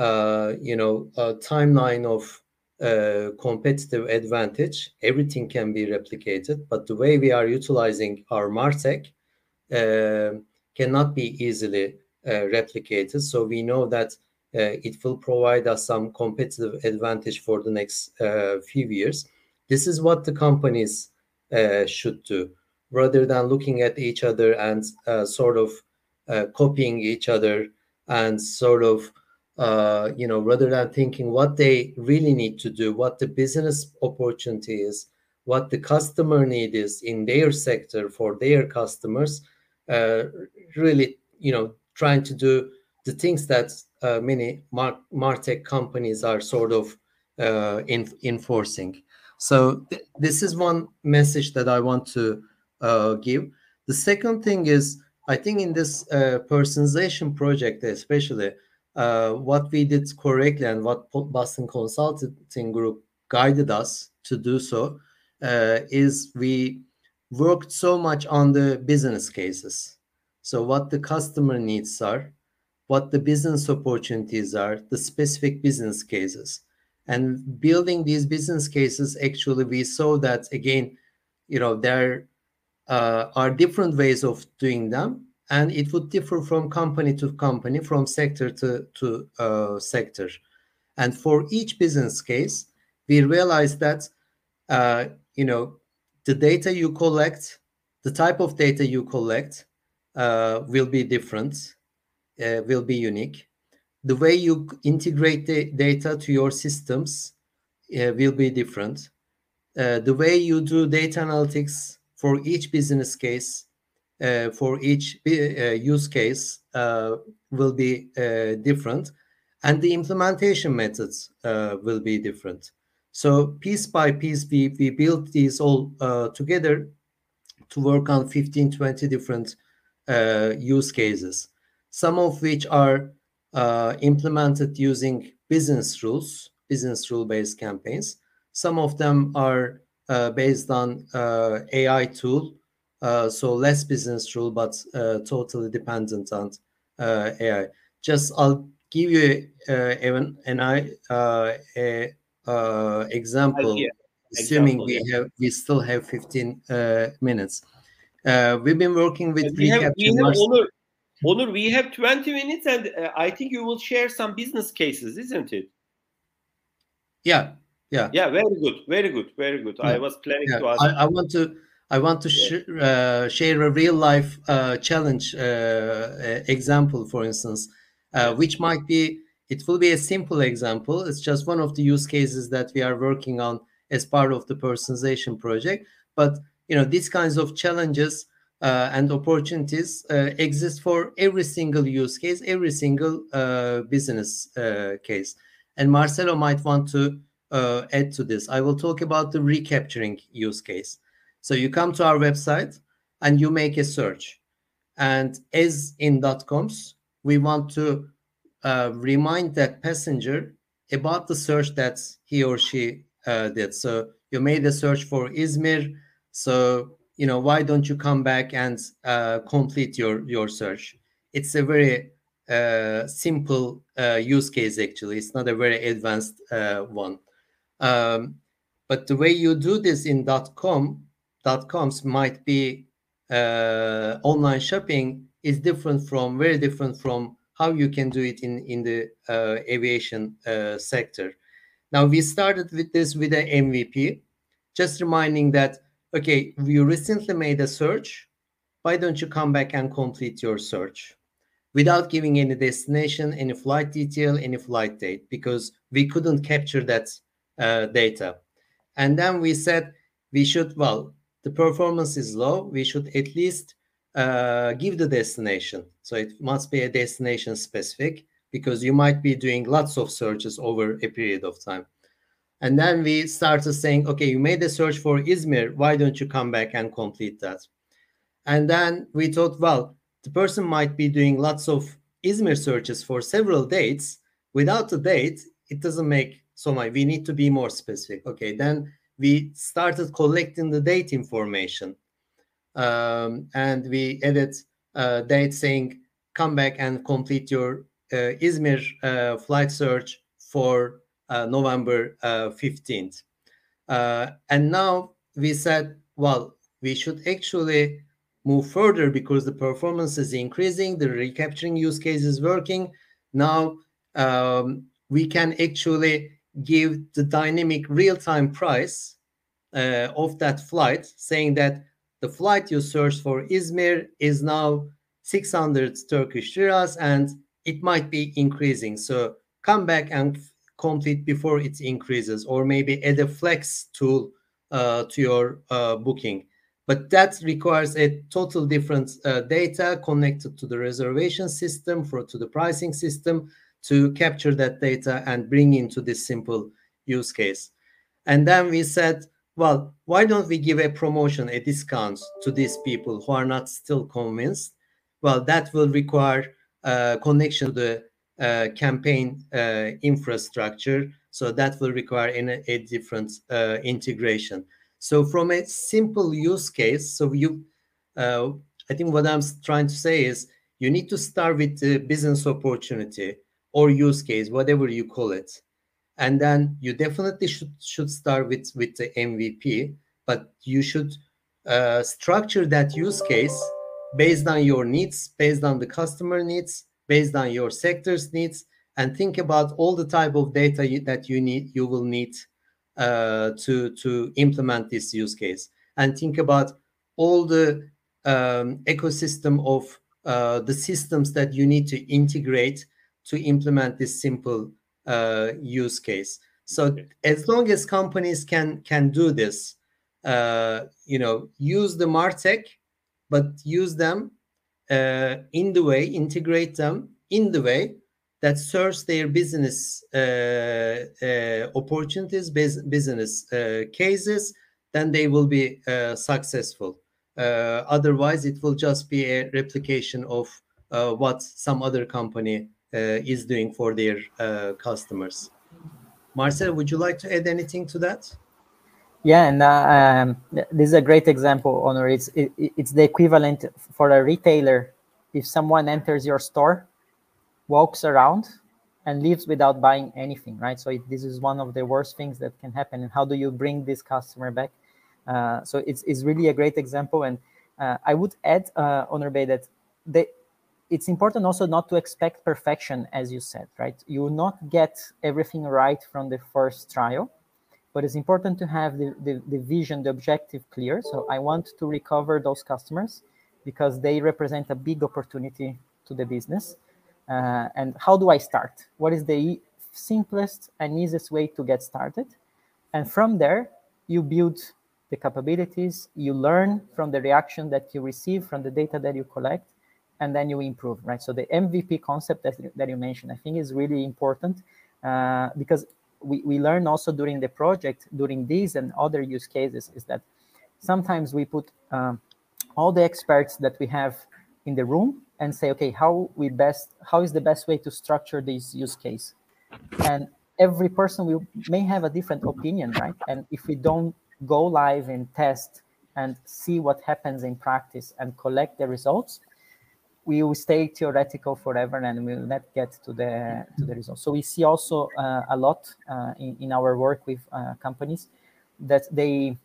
timeline of competitive advantage. Everything can be replicated, but the way we are utilizing our MarTech cannot be easily replicated. So we know that it will provide us some competitive advantage for the next few years. This is what the companies should do, rather than looking at each other and sort of copying each other, and sort of rather than thinking what they really need to do, what the business opportunity is, what the customer need is in their sector for their customers, really trying to do the things that many MarTech companies are sort of enforcing. So this is one message that I want to give. The second thing is, I think in this personalization project especially, what we did correctly and what Boston Consulting Group guided us to do so is we worked so much on the business cases. So what the customer needs are, what the business opportunities are, the specific business cases. And building these business cases, actually, we saw that, again, there are different ways of doing them, and it would differ from company to company, from sector to sector. And for each business case, we realized that the data you collect, the type of data you collect will be different, will be unique. The way you integrate the data to your systems will be different. The way you do data analytics for each business case, for each use case will be different, and the implementation methods will be different. So piece by piece, we built these all together to work on 15, 20 different use cases, some of which are implemented using business rule-based campaigns. Some of them are based on AI tool, so less business rule, but totally dependent on AI. I'll give you example, assuming we still have 15 minutes. We've been working with reCAPTCHA. Onur, we have 20 minutes, and I think you will share some business cases, isn't it? Yeah. Very good. Yeah. I was planning to ask. I want to share a real life challenge example, for instance, which might be. It will be a simple example. It's just one of the use cases that we are working on as part of the personalization project. But these kinds of challenges and opportunities exist for every single use case, every single business case. And Marcelo might want to add to this. I will talk about the recapturing use case. So you come to our website and you make a search. And as in .coms, we want to remind that passenger about the search that he or she did. So you made a search for Izmir. So, why don't you come back and complete your search? It's a very simple use case, actually. It's not a very advanced one. But the way you do this in .coms might be online shopping is very different from how you can do it in the aviation sector. Now, we started with this with an MVP, just reminding that, okay, you recently made a search. Why don't you come back and complete your search? Without giving any destination, any flight detail, any flight date, because we couldn't capture that data. And then we said the performance is low. We should at least give the destination. So it must be a destination specific, because you might be doing lots of searches over a period of time. And then we started saying, okay, you made a search for Izmir. Why don't you come back and complete that? And then we thought, the person might be doing lots of Izmir searches for several dates. Without the date, it doesn't make so much. We need to be more specific. Okay, then we started collecting the date information. And we added date saying, come back and complete your Izmir flight search for November 15th. And now we said, we should actually move further because the performance is increasing, the recapturing use case is working. Now we can actually give the dynamic real-time price of that flight, saying that the flight you searched for Izmir is now 600 Turkish liras and it might be increasing. So come back and complete before it increases, or maybe add a flex tool to your booking. But that requires a total different data connected to the reservation system, to the pricing system, to capture that data and bring into this simple use case. And then we said, why don't we give a promotion, a discount to these people who are not still convinced? That will require connection to the campaign infrastructure. So that will require a different integration. So from a simple use case, I think what I'm trying to say is you need to start with the business opportunity or use case, whatever you call it. And then you definitely should start with the MVP, but you should structure that use case based on your needs, based on the customer needs, based on your sector's needs, and think about all the type of data that you will need to implement this use case, and think about all the ecosystem of the systems that you need to integrate to implement this simple use case. So as long as companies can do this, use the MarTech, but use them in the way, integrate them in the way that serves their business opportunities, business cases, then they will be successful. Otherwise, it will just be a replication of what some other company is doing for their customers. Marcel, would you like to add anything to that? Yeah, and this is a great example, Onur. It's the equivalent for a retailer. If someone enters your store, walks around, and leaves without buying anything, right? So this is one of the worst things that can happen. And how do you bring this customer back? So it's really a great example. And I would add, Onur Bey, that it's important also not to expect perfection, as you said, right? You will not get everything right from the first trial, but it's important to have the vision, the objective clear. So I want to recover those customers because they represent a big opportunity to the business. And how do I start? What is the simplest and easiest way to get started? And from there, you build the capabilities, you learn from the reaction that you receive, from the data that you collect, and then you improve, right? So the MVP concept that you mentioned, I think is really important because we learn also during the project, during these and other use cases, is that sometimes we put all the experts that we have in the room and say, okay, how is the best way to structure this use case? And every person may have a different opinion, right? And if we don't go live and test and see what happens in practice and collect the results, we will stay theoretical forever and we will not get to the results. So we see also a lot in our work with companies that they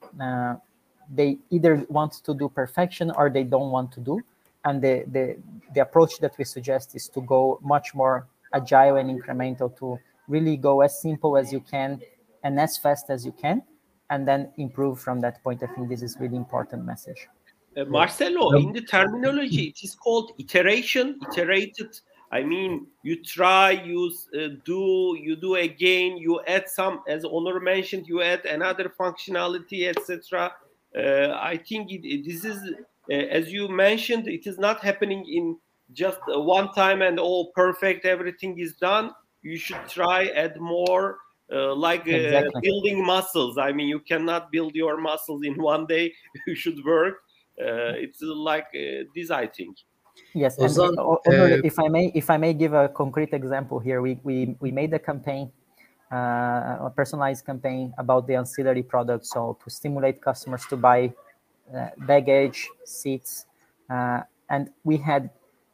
either want to do perfection or they don't want to do. And the approach that we suggest is to go much more agile and incremental, to really go as simple as you can and as fast as you can, and then improve from that point. I think this is really important message. Marcelo, in the terminology, it is called iteration, iterated. I mean, you try, you do again, you add some, as Onur mentioned, you add another functionality, etc. I think this is, as you mentioned, it is not happening in just one time and all perfect, everything is done. You should try, add more, exactly. Building muscles. I mean, you cannot build your muscles in one day. You should work. It's like this, I think. Yes, and if I may give a concrete example here, we made a campaign, a personalized campaign about the ancillary products, so to stimulate customers to buy baggage, seats, and we had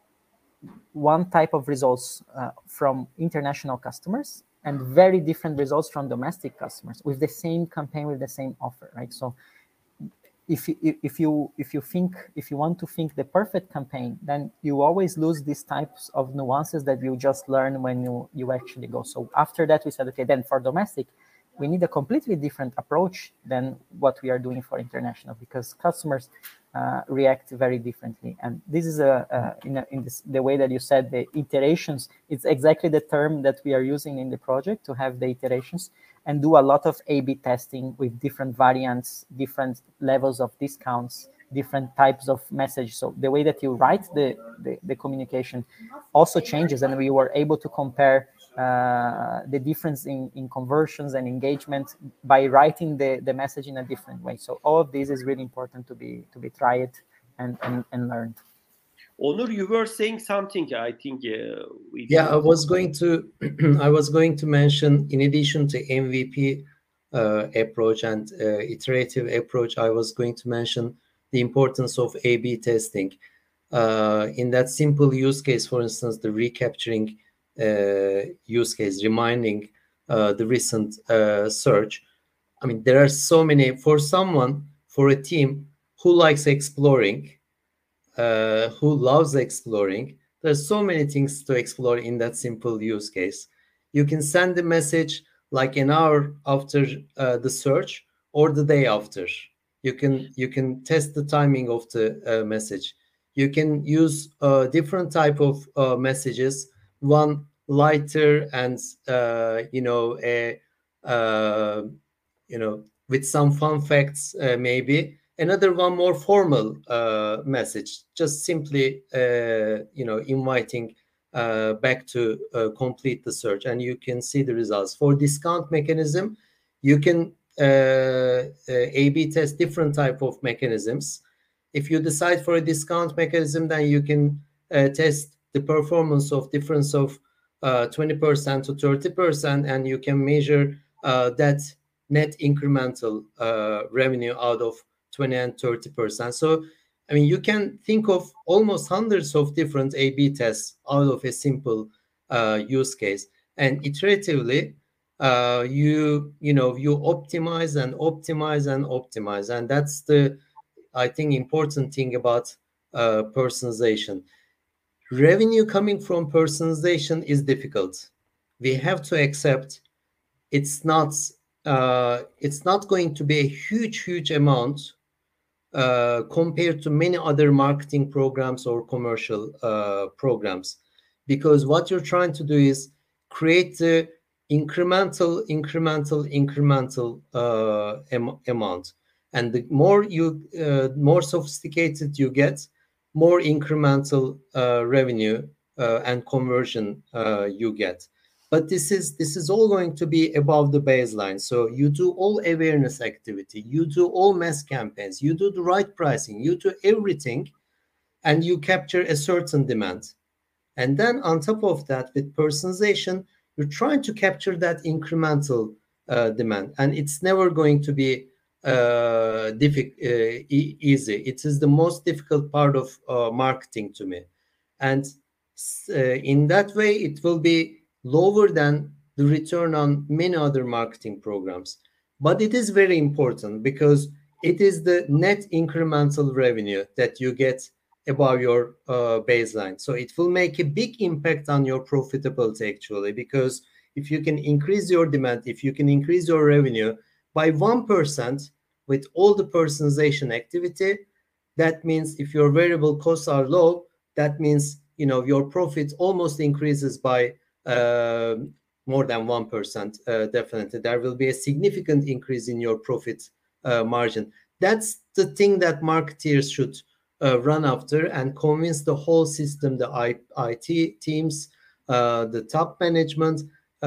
one type of results from international customers and very different results from domestic customers with the same campaign, with the same offer, right? So if you want to think the perfect campaign, then you always lose these types of nuances that you just learn when you actually go. So after that, we said, okay, then for domestic, we need a completely different approach than what we are doing for international, because customers react very differently. And this is the way that you said, the iterations. It's exactly the term that we are using in the project, to have the iterations and do a lot of A/B testing with different variants, different levels of discounts, different types of message. So the way that you write the communication also changes, and we were able to compare the difference in conversions and engagement by writing the message in a different way. So all of this is really important to be tried and learned. Onur, you were saying something. I think I was going to mention, in addition to MVP approach and iterative approach, I was going to mention the importance of A/B testing. In that simple use case, for instance, the recapturing use case, reminding the recent search. I mean, there are so many, for a team who likes exploring, who loves exploring, there's so many things to explore in that simple use case. You can send a message like an hour after the search or the day after. You can test the timing of the message. You can use different type of messages. One lighter and with some fun facts, maybe. Another one more formal message, just simply inviting back to complete the search, and you can see the results. For discount mechanism, you can A/B test different type of mechanisms. If you decide for a discount mechanism, then you can test the performance of difference of 20% to 30%, and you can measure that net incremental revenue out of 20 and 30%. So, I mean, you can think of almost hundreds of different A/B tests out of a simple use case, and iteratively you optimize and optimize and optimize, and that's the, I think, important thing about personalization. Revenue coming from personalization is difficult. We have to accept it's not going to be a huge amount compared to many other marketing programs or commercial programs, because what you're trying to do is create the incremental amount, and the more sophisticated you get, more incremental revenue and conversion you get. But this is all going to be above the baseline. So you do all awareness activity, you do all mass campaigns, you do the right pricing, you do everything, and you capture a certain demand. And then on top of that, with personalization, you're trying to capture that incremental demand, and it's never going to be easy. It is the most difficult part of marketing to me, and in that way, it will be lower than the return on many other marketing programs. But it is very important because it is the net incremental revenue that you get above your baseline. So it will make a big impact on your profitability, actually, because if you can increase your demand, if you can increase your revenue by 1% with all the personalization activity, that means if your variable costs are low, that means your profit almost increases by more than 1%. Definitely, there will be a significant increase in your profit margin. That's the thing that marketeers should run after and convince the whole system, the IT teams, the top management,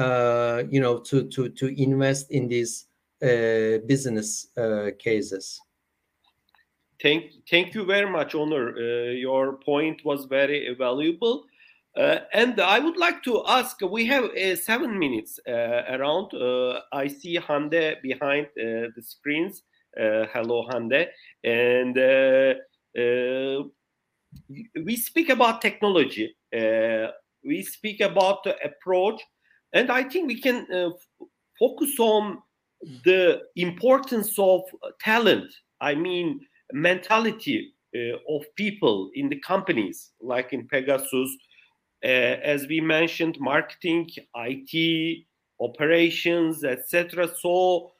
to invest in these business cases. Thank you very much, Onur. Your point was very valuable. And I would like to ask, we have 7 minutes around. I see Hande behind the screens. Hello, Hande. And we speak about technology. We speak about the approach. And I think we can focus on the importance of talent. I mean, mentality of people in the companies, like in Pegasus. As we mentioned, marketing, IT, operations, etc. So,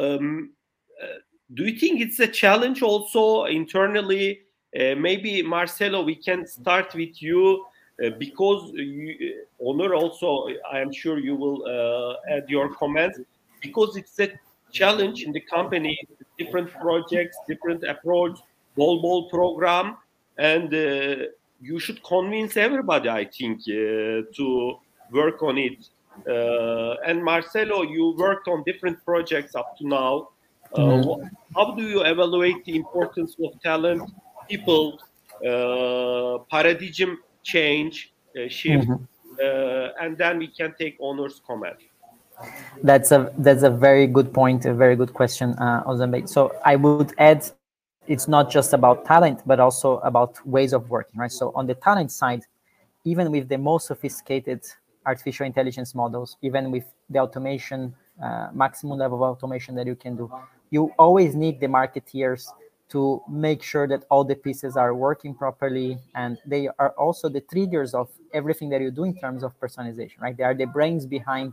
do you think it's a challenge also internally? Maybe Marcelo, we can start with you because Onur also, I am sure you will add your comments, because it's a challenge in the company, different projects, different approach, ball program, and you should convince everybody, I think, to work on it. And Marcelo, you worked on different projects up to now. How do you evaluate the importance of talent, people, paradigm change, shift, and then we can take Onur's comment. That's a very good point, a very good question, Ozanbek. So I would add, it's not just about talent, but also about ways of working, right? So on the talent side, even with the most sophisticated artificial intelligence models, even with the automation, maximum level of automation that you can do, you always need the marketeers to make sure that all the pieces are working properly, and they are also the triggers of everything that you do in terms of personalization, right? They are the brains behind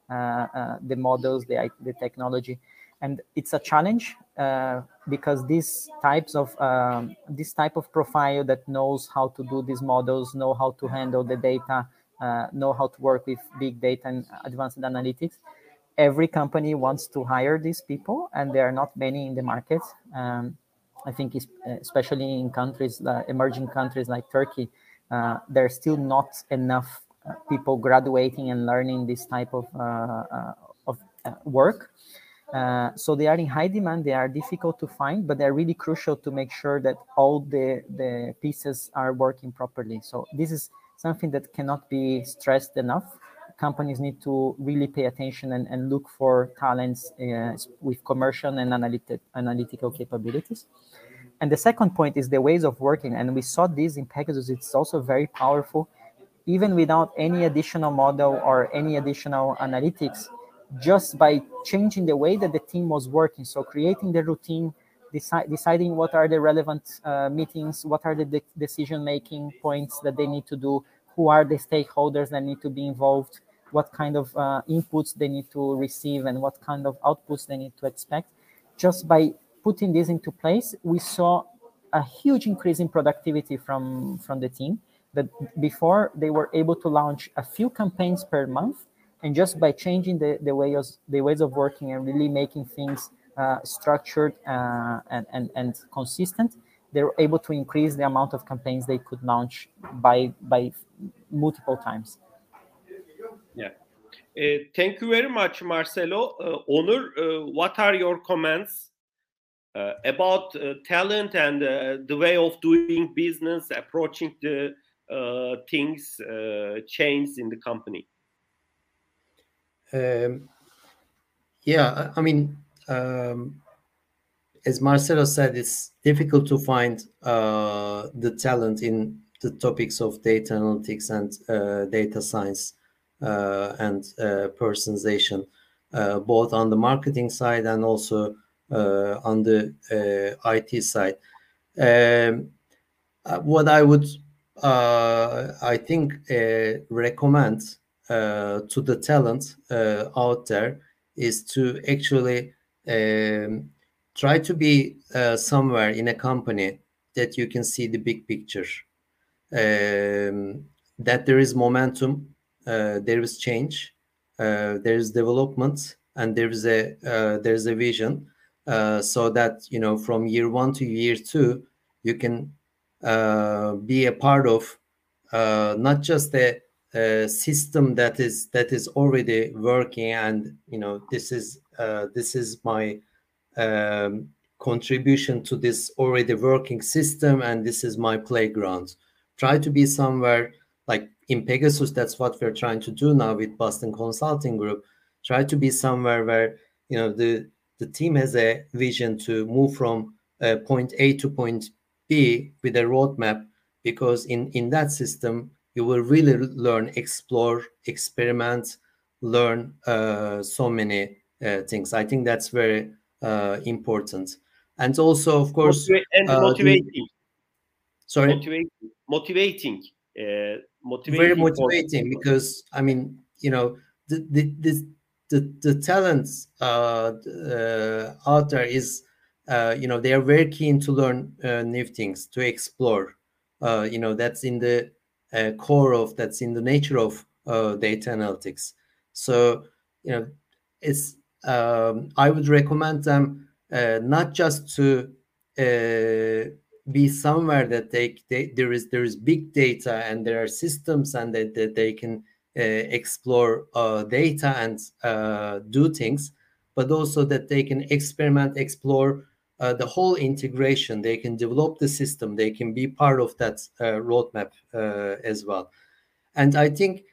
the models, the technology. And it's a challenge because this type of profile that knows how to do these models, know how to handle the data, know how to work with big data and advanced analytics. Every company wants to hire these people, and there are not many in the market. I think especially in countries, emerging countries like Turkey, there's still not enough people graduating and learning this type of work. So they are in high demand. They are difficult to find, but they're really crucial to make sure that all the pieces are working properly. So this is something that cannot be stressed enough. Companies need to really pay attention and look for talents with commercial and analytical capabilities. And the second point is the ways of working. And we saw this in Pegasus. It's also very powerful. Even without any additional model or any additional analytics, just by changing the way that the team was working. So creating the routine, deciding what are the relevant meetings, what are the decision-making points that they need to do, who are the stakeholders that need to be involved, what kind of inputs they need to receive, and what kind of outputs they need to expect. Just by putting this into place, we saw a huge increase in productivity from the team. That before they were able to launch a few campaigns per month, and just by changing the ways of working and really making things structured and consistent, they were able to increase the amount of campaigns they could launch by multiple times. Yeah. Thank you very much, Marcelo. Onur, what are your comments about talent and the way of doing business, approaching the things, change in the company? Yeah, I mean, as Marcelo said, it's difficult to find the talent in the topics of data analytics and data science and personalization, both on the marketing side and also on the IT side. What I would, I think, recommend to the talent out there is to actually try to be somewhere in a company that you can see the big picture, that there is momentum, there is change, there is development, and there is a vision, so that, you know, from year 1 to year 2, you can be a part of not just a system that is already working, and, you know, this is my contribution to this already working system, and this is my playground. Try to be somewhere like in Pegasus. That's what we're trying to do now with Boston Consulting Group. Try to be somewhere where, you know, the team has a vision to move from point A to point B with a roadmap, because in that system you will really learn, explore, experiment, learn so many things. I think that's very important. And also, of course, motivating. Sorry? Motivating. Very motivating, because, I mean, you know, the talents out there is, you know, they are very keen to learn new things, to explore. You know, that's in the core of, that's in the nature of data analytics. So, you know, it's I would recommend them not just to be somewhere that there is big data and there are systems, and that they can explore data and do things, but also that they can experiment, explore the whole integration. They can develop the system. They can be part of that roadmap as well. And I think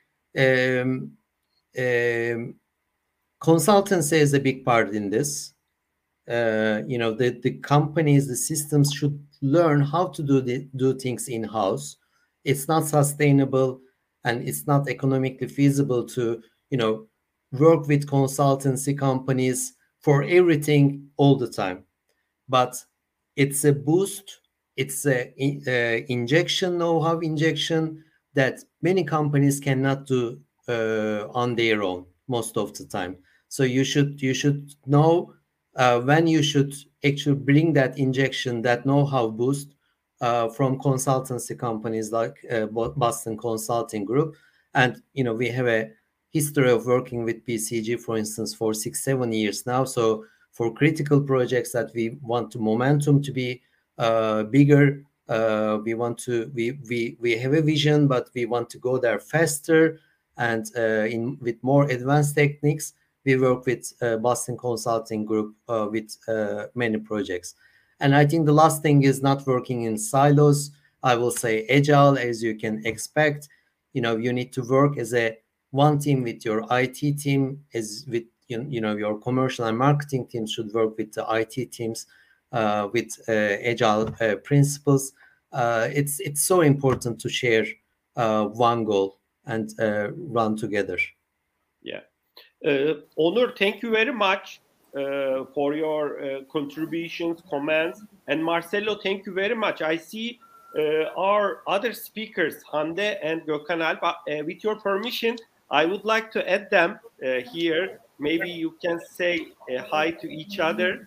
consultancy is a big part in this. You know, the companies, the systems should learn how to do things in-house. It's not sustainable and it's not economically feasible to, you know, work with consultancy companies for everything all the time. But it's a boost, it's a injection, know-how injection that many companies cannot do on their own. most of the time. So you should know when you should actually bring that injection, that know-how boost from consultancy companies like Boston Consulting Group. And we have a history of working with BCG, for instance, for 6-7 years now. So for critical projects that we want the momentum to be bigger, we have a vision, but we want to go there faster and with more advanced techniques. We work with Boston Consulting Group with many projects. And I think the last thing is not working in silos. I will say agile, as you can expect. You need to work as a one team with your IT team, as with your commercial and marketing teams should work with the IT teams with agile principles. It's so important to share one goal and run together. Yeah. Onur, thank you very much for your contributions, comments. And Marcelo, thank you very much. I see our other speakers, Hande and Gökhan Alp. With your permission, I would like to add them here. Maybe you can say hi to each other.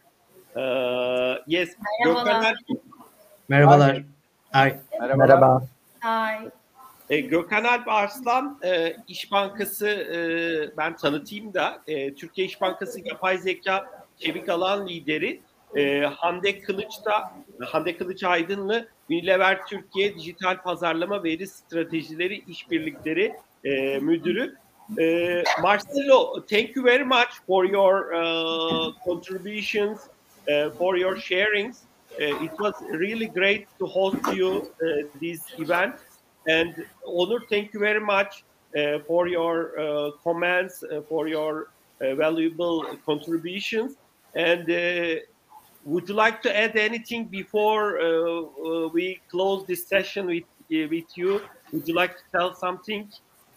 Yes, Gökhan Alp. Merhabalar. Hi. Merhaba. Hi. Gökhan Alp Arslan, İş Bankası, ben tanıtayım da, Türkiye İş Bankası Yapay Zeka Çevik Alan Lideri, Hande Kılıç Aydınlı, Unilever Türkiye Dijital Pazarlama Veri Stratejileri İşbirlikleri Müdürü. Marcelo, thank you very much for your contributions, for your sharings. It was really great to host you this event. And Onur, thank you very much for your comments, for your valuable contributions. And would you like to add anything before we close this session with you? Would you like to tell something?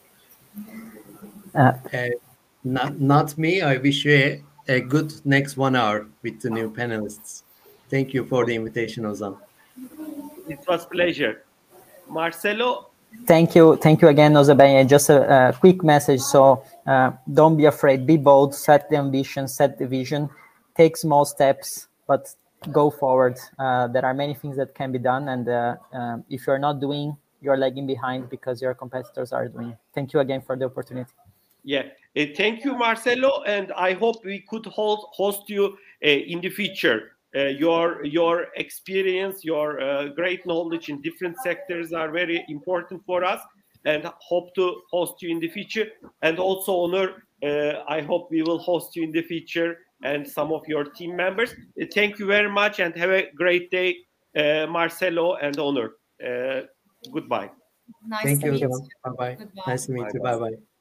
Not me. I wish you a good next 1 hour with the new panelists. Thank you for the invitation, Ozan. It was a pleasure. Marcelo? Thank you again, Ozan. Just a quick message. So don't be afraid, be bold, set the ambition, set the vision, take small steps, but go forward. There are many things that can be done. And if you're not doing, you're lagging behind because your competitors are doing. Thank you again for the opportunity. Yeah, thank you, Marcelo. And I hope we could host you in the future. Your experience, your great knowledge in different sectors are very important for us, and hope to host you in the future. And also, Onur, I hope we will host you in the future and some of your team members. Thank you very much and have a great day, Marcelo and Onur. Goodbye. Nice Thank to you. meet you. Bye-bye. Goodbye. Nice to meet you. Bye-bye.